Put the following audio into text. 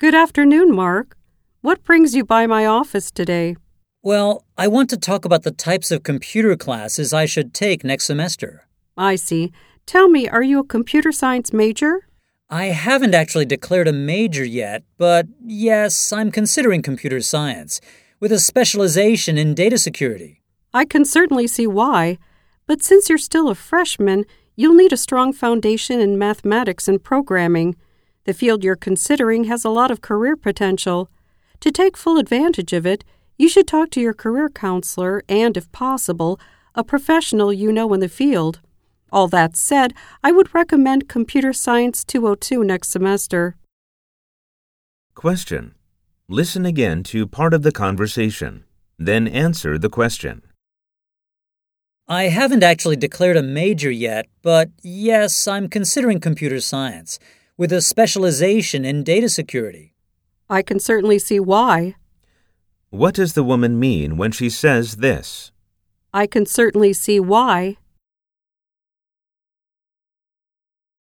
Good afternoon, Mark. What brings you by my office today? Well, I want to talk about the types of computer classes I should take next semester. I see. Tell me, are you a computer science major? I haven't actually declared a major yet, but yes, I'm considering computer science, with a specialization in data security. I can certainly see why, but since you're still a freshman, you'll need a strong foundation in mathematics and programming. The field you're considering has a lot of career potential. To take full advantage of it, you should talk to your career counselor and, if possible, a professional you know in the field. All that said, I would recommend Computer Science 202 next semester. Question. Listen again to part of the conversation, then answer the question. I haven't actually declared a major yet, but yes, I'm considering computer science, with a specialization in data security. I can certainly see why. What does the woman mean when she says this? I can certainly see why.